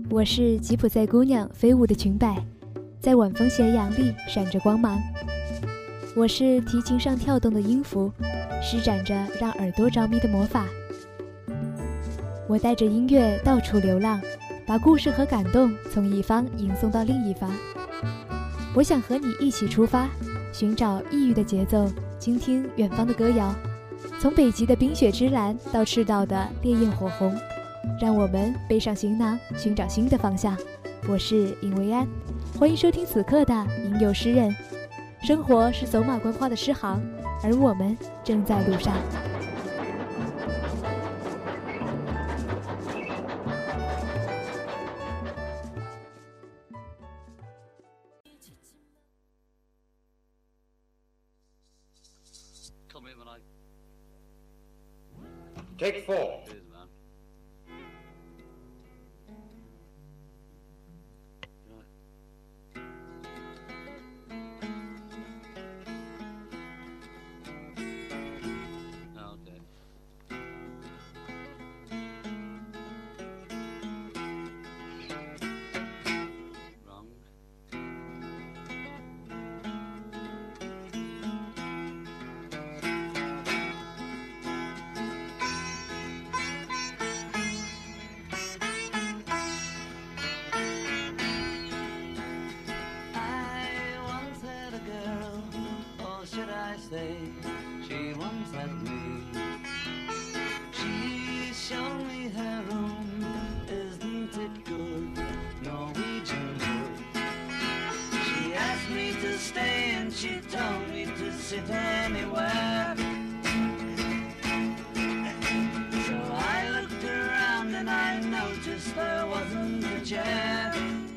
我是吉普赛姑娘飞舞的裙摆，在晚风斜阳里闪着光芒。我是提琴上跳动的音符，施展着让耳朵着迷的魔法。我带着音乐到处流浪，把故事和感动从一方吟送到另一方。我想和你一起出发，寻找异域的节奏，倾听远方的歌谣。从北极的冰雪之蓝到赤道的烈焰火红，让我们背上行囊，寻找新的方向。我是尹维安，欢迎收听此刻的吟游诗人。生活是走马观花的诗行，而我们正在路上。 Take 4. She once had me. She showed me her room. Isn't it good? Norwegian wood. She asked me to stay and she told me to sit anywhere. So I looked around and I noticed there wasn't a chair.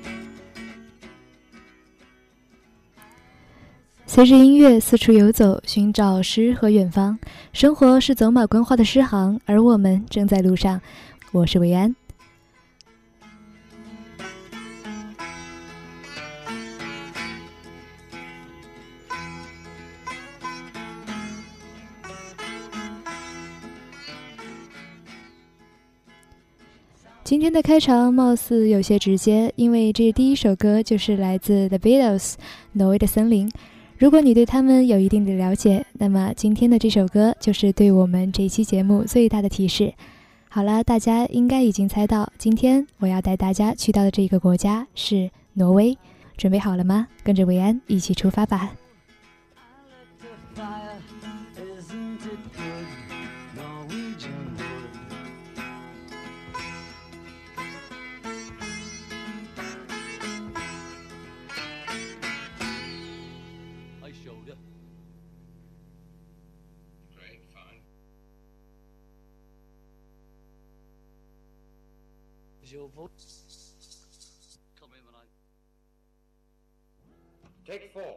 随着音乐四处游走，寻找诗和远方。生活是走马观花的诗行，而我们正在路上。我是维安。今天的开场貌似有些直接，因为这第一首歌就是来自 The Beatles 挪威的森林。如果你对他们有一定的了解，那么今天的这首歌就是对我们这一期节目最大的提示。好了，大家应该已经猜到，今天我要带大家去到的这个国家是挪威。准备好了吗？跟着维安一起出发吧。 Your voice. Come in when I Take 4.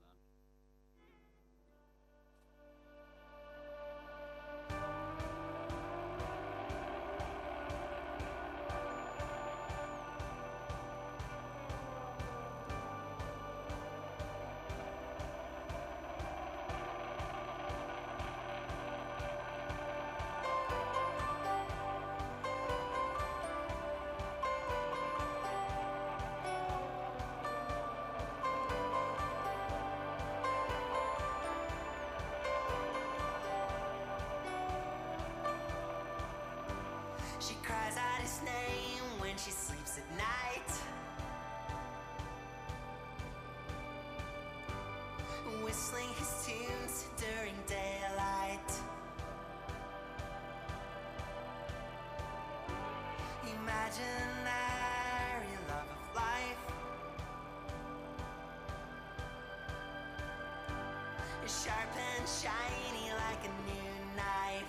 She cries out his name when she sleeps at night. Whistling his tunes during daylight. Imaginary love of life is sharp and shiny like a new knife.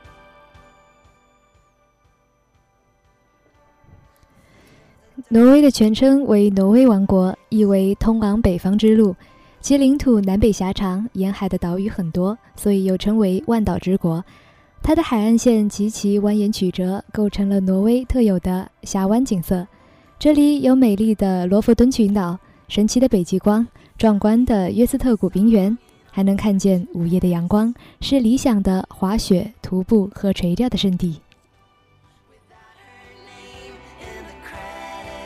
挪威的全称为挪威王国，意为通往北方之路。其领土南北狭长，沿海的岛屿很多，所以又称为万岛之国。它的海岸线极其蜿蜒曲折，构成了挪威特有的峡湾景色。这里有美丽的罗弗敦群岛，神奇的北极光，壮观的约斯特谷冰原，还能看见午夜的阳光，是理想的滑雪、徒步和垂钓的圣地。 Without her name in the credits.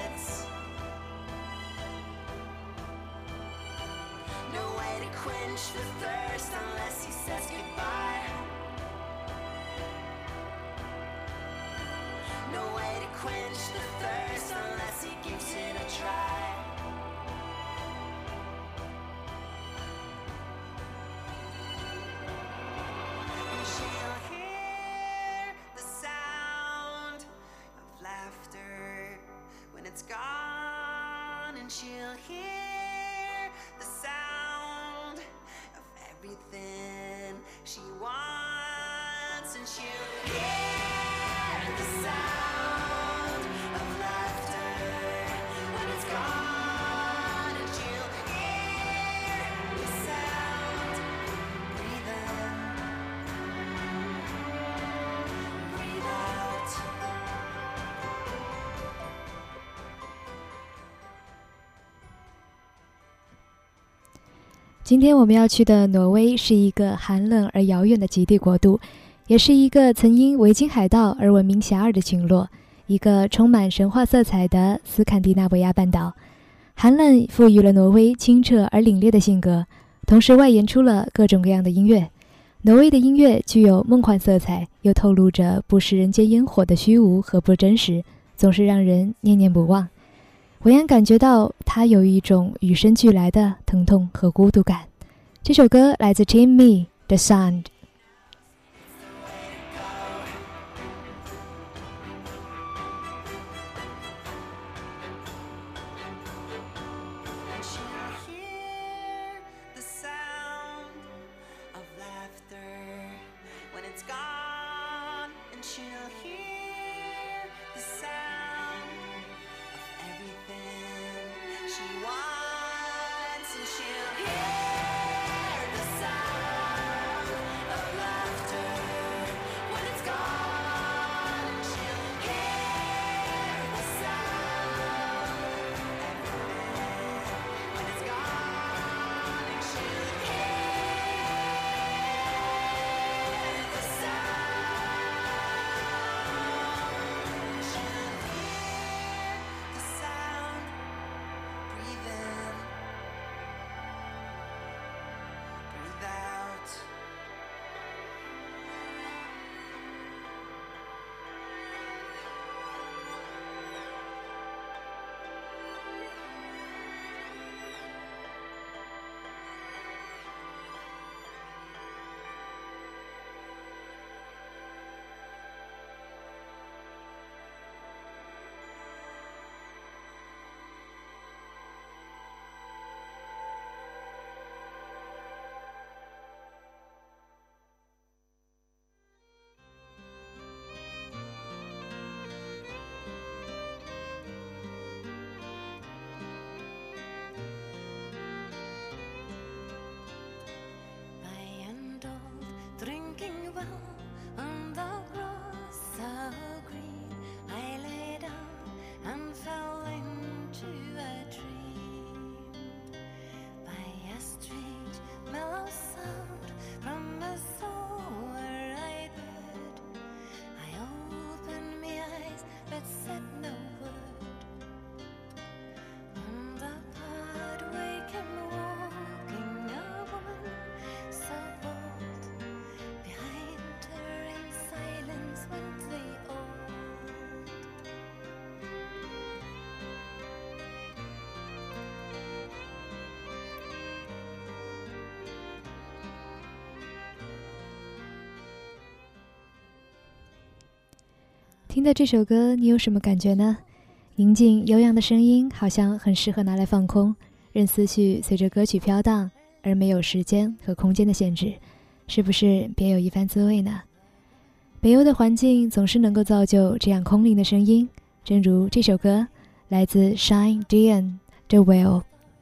and she'll hear the sound of everything she wants, and she'll hear the sound of laughter when it's gone, and she'll hear the sound. Breathe in, breathe out. 今天我们要去的挪威是一个寒冷而遥远的极地国度，也是一个曾因维京海盗而闻名遐迩的群落，一个充满神话色彩的斯堪的纳维亚半岛。寒冷赋予了挪威清澈而凛冽的性格，同时外延出了各种各样的音乐。挪威的音乐具有梦幻色彩，又透露着不食人间烟火的虚无和不真实，总是让人念念不忘。维安感觉到它有一种与生俱来的疼痛和孤独感。这首歌来自 Team Me The Sound。 And she'll hear the sound of laughter when it's gone, and she'll hear the sound of everything she wants, and she'll hear the sound of laughter when it's gone, and she'll hear the sound when it's gone, and she'll hear the sound. She'll hear the sound. Breathe in, breathe out. By and old, drinking well on the grass so green, I lay down and fell into a dream. By a strange mellow sound from a soar-eyed bird, I opened my eyes but said no word. On the pathway came walking a woman so bold. Behind her in silence went the old. “听到这首歌，你有什么感觉呢？宁静悠扬的声音好像很适合拿来放空，任思绪随着歌曲飘荡，而没有时间和空间的限制，是不是别有一番滋味呢？北欧的环境总是能够造就这样空灵的声音，正如这首歌，来自 Shine Dian 的 Well。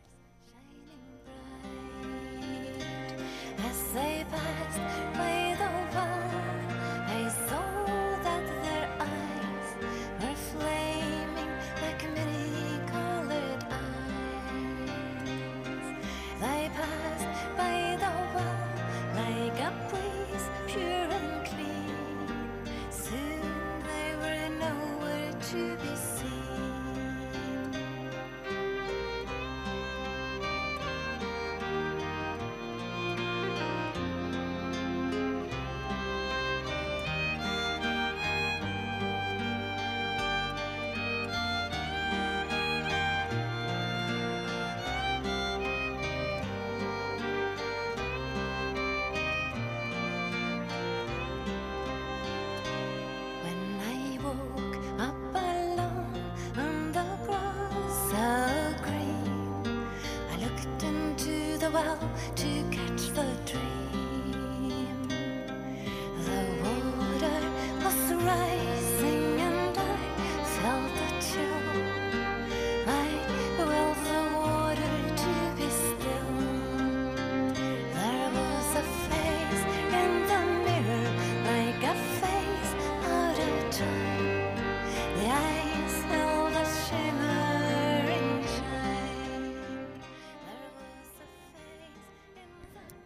As they passed by the well, I saw that their eyes were flaming like many-colored eyes. They passed by the well like a breeze, pure and clean. Soon they were nowhere to be seen. When I woke up alone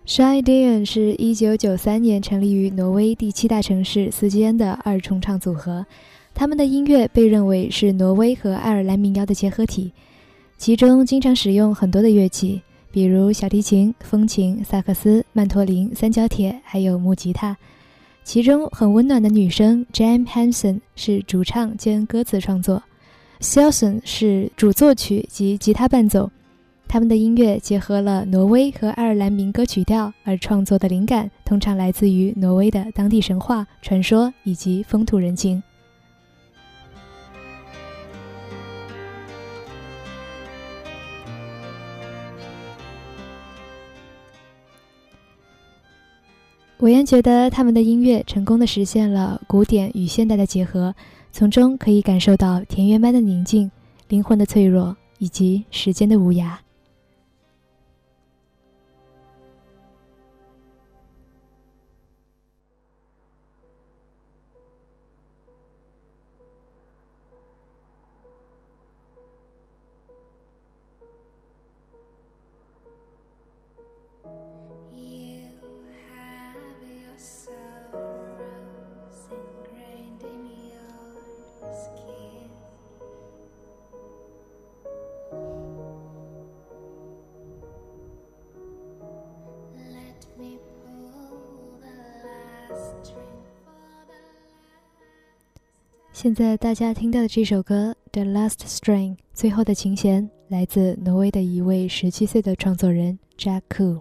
Shy Dian 是1993年成立于挪威第7大城市斯基恩的二重唱组合，他们的音乐被认为是挪威和爱尔兰民谣的结合体，其中经常使用很多的乐器，比如小提琴、风琴、萨克斯、曼托林、三角铁，还有木吉他。其中很温暖的女声 Jan Hansen 是主唱兼歌词创作， Selson 是主作曲及吉他伴奏。他们的音乐结合了挪威和爱尔兰民歌曲调，而创作的灵感通常来自于挪威的当地神话、传说以及风土人情。韦恩觉得他们的音乐成功地实现了古典与现代的结合，从中可以感受到田园般的宁静、灵魂的脆弱以及时间的无涯。现在大家听到的这首歌《The Last String》最后的琴弦来自挪威的一位17岁的创作人 Jack Koo。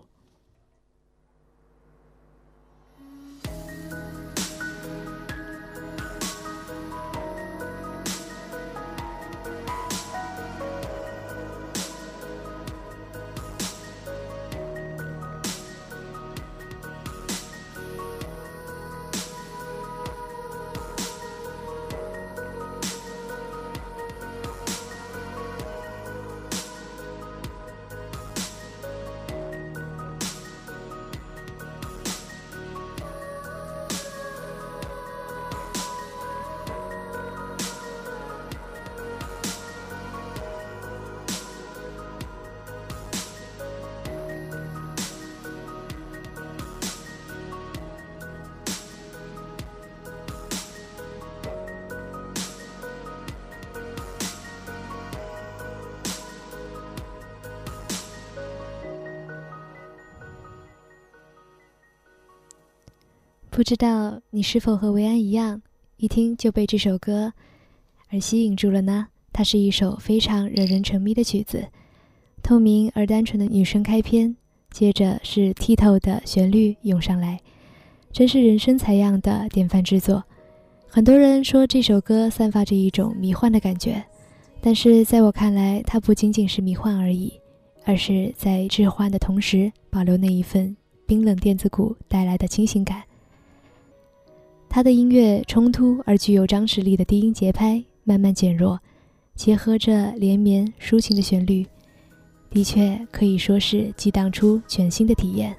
不知道你是否和维安一样，一听就被这首歌而吸引住了呢？它是一首非常惹人沉迷的曲子，透明而单纯的女声开篇，接着是剔透的旋律涌上来，真是人生采样的典范之作。很多人说这首歌散发着一种迷幻的感觉，但是在我看来，它不仅仅是迷幻而已，而是在置换的同时保留那一份冰冷电子鼓带来的清醒感。他的音乐冲突而具有张弛力的低音节拍慢慢减弱，结合着连绵抒情的旋律，的确可以说是激荡出全新的体验。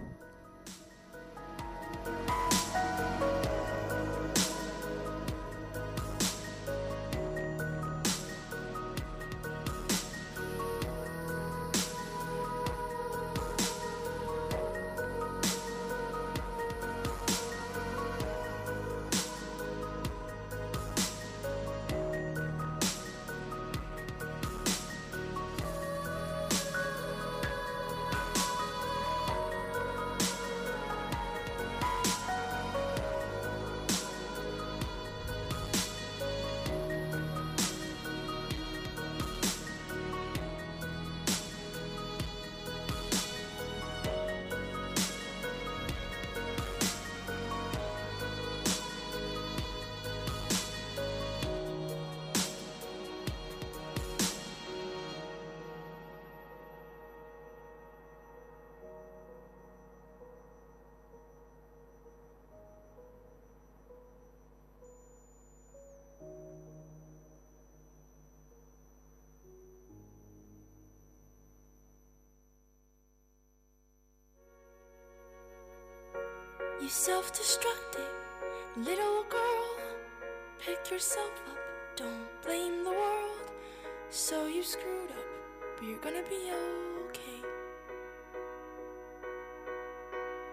You self-destructive little girl, pick yourself up, don't blame the world. So you screwed up, but you're gonna be okay.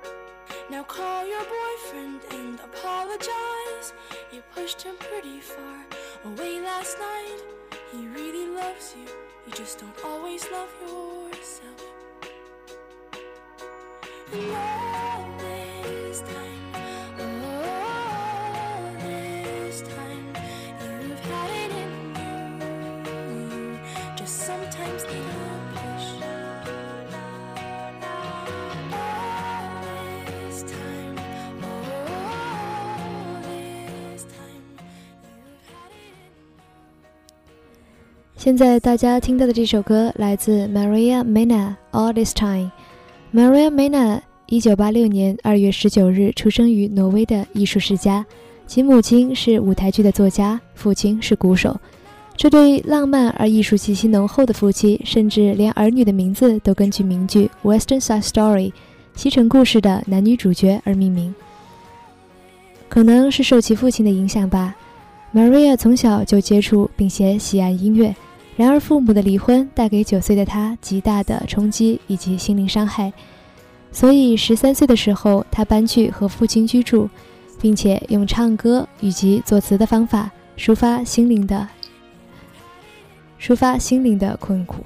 Now call your boyfriend and apologize. You pushed him pretty far away last night. He really loves you, you just don't always love yourself. And all this time, you've had it in you. Just sometimes need a push. 现在大家听到的这首歌来自 Maria Mena All This Time。Maria Mena 1986年2月19日出生于挪威的艺术世家，其母亲是舞台剧的作家，父亲是鼓手。这对浪漫而艺术气息浓厚的夫妻，甚至连儿女的名字都根据名剧 Western Side Story 西城故事的男女主角而命名。可能是受其父亲的影响吧， Maria 从小就接触并且喜爱音乐，然而父母的离婚带给9岁的她极大的冲击以及心灵伤害，所以13岁的时候她搬去和父亲居住，并且用唱歌以及作词的方法抒发心灵的困苦。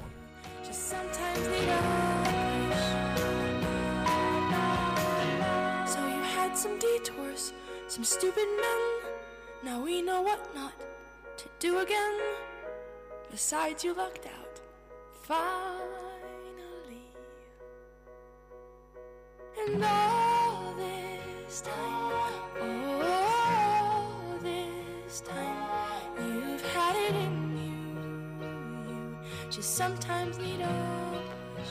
Some stupid men, now we know what not to do again. Besides, you lucked out, finally. And all this time, you've had it in you. You just sometimes need a push.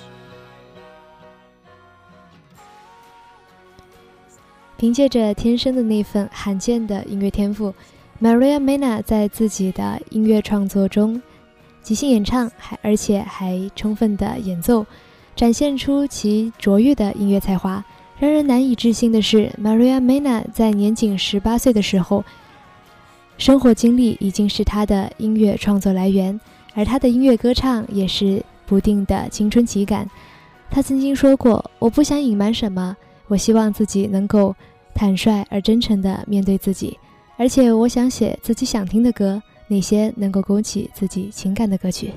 凭借着天生的那份罕见的音乐天赋， Maria Mena 在自己的音乐创作中即兴演唱，而且还充分的演奏，展现出其卓越的音乐才华。让人难以置信的是， Maria Mena 在年仅18岁的时候，生活经历已经是她的音乐创作来源，而她的音乐歌唱也是不定的青春期感。她曾经说过，我不想隐瞒什么，我希望自己能够坦率而真诚地面对自己，而且我想写自己想听的歌，那些能够勾起自己情感的歌曲。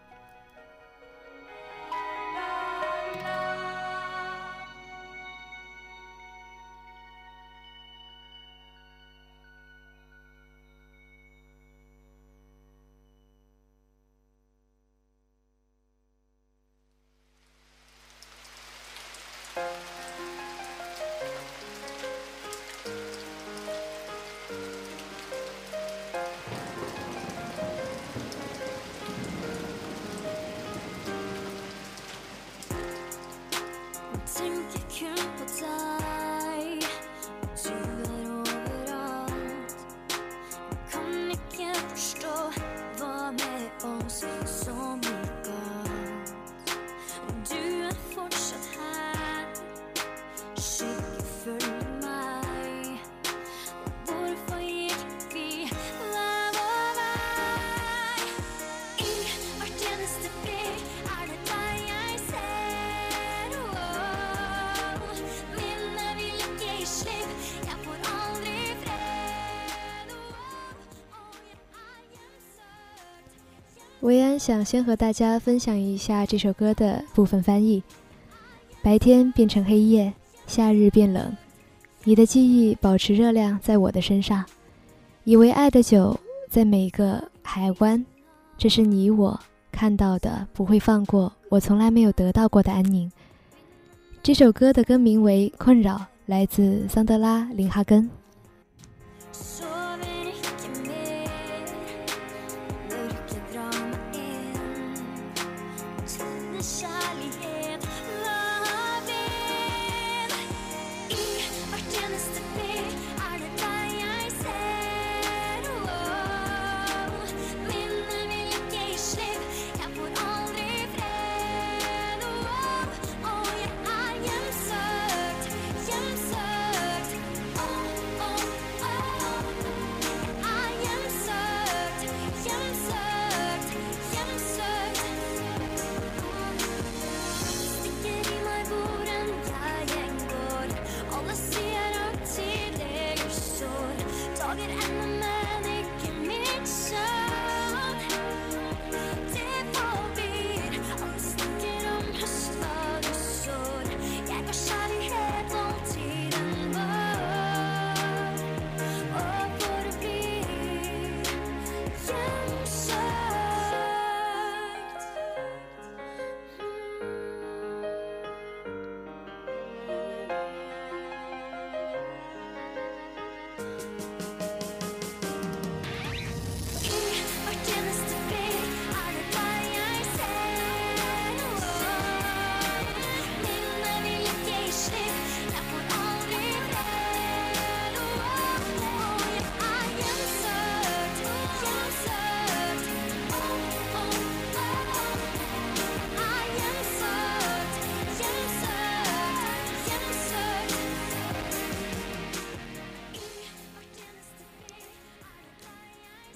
维安想先和大家分享一下这首歌的部分翻译。白天变成黑夜，夏日变冷，你的记忆保持热量在我的身上，以为爱的酒在每个海湾，这是你我看到的，不会放过我从来没有得到过的安宁。这首歌的歌名为《困扰》，来自桑德拉·林哈根。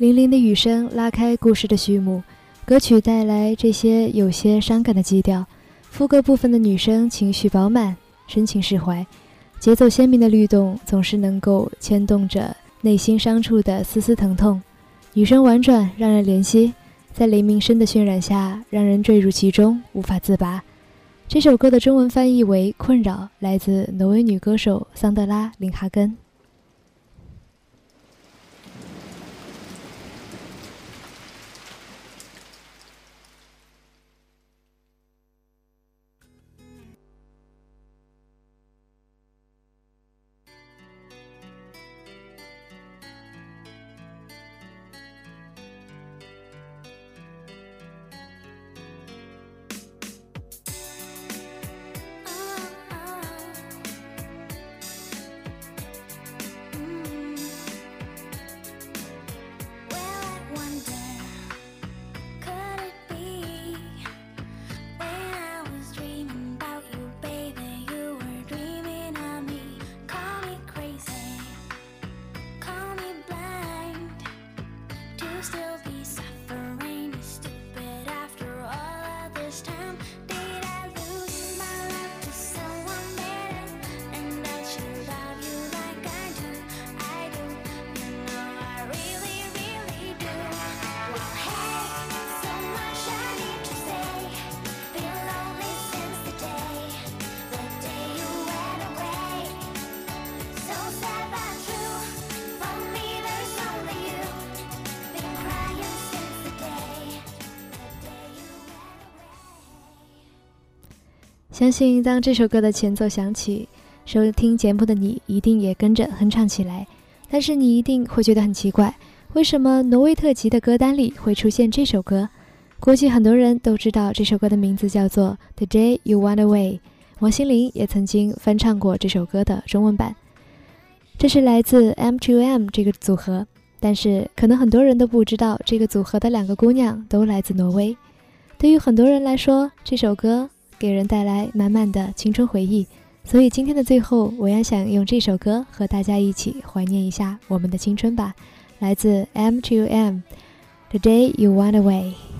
粼粼的雨声拉开故事的序幕，歌曲带来这些有些伤感的基调，副歌部分的女声情绪饱满，深情释怀，节奏鲜明的律动总是能够牵动着内心深处的丝丝疼痛。女声婉转让人怜惜，在雷鸣声的渲染下让人坠入其中无法自拔。这首歌的中文翻译为困扰，来自挪威女歌手桑德拉·林哈根。相信当这首歌的前奏响起，收听节目的你一定也跟着哼唱起来。但是你一定会觉得很奇怪，为什么挪威特辑的歌单里会出现这首歌？估计很多人都知道这首歌的名字叫做 The Day You Went Away， 王心凌也曾经翻唱过这首歌的中文版。这是来自 M2M 这个组合，但是可能很多人都不知道这个组合的两个姑娘都来自挪威。对于很多人来说，这首歌给人带来满满的青春回忆，所以今天的最后，我也想用这首歌和大家一起怀念一下我们的青春吧。来自 M2M The Day You Went Away。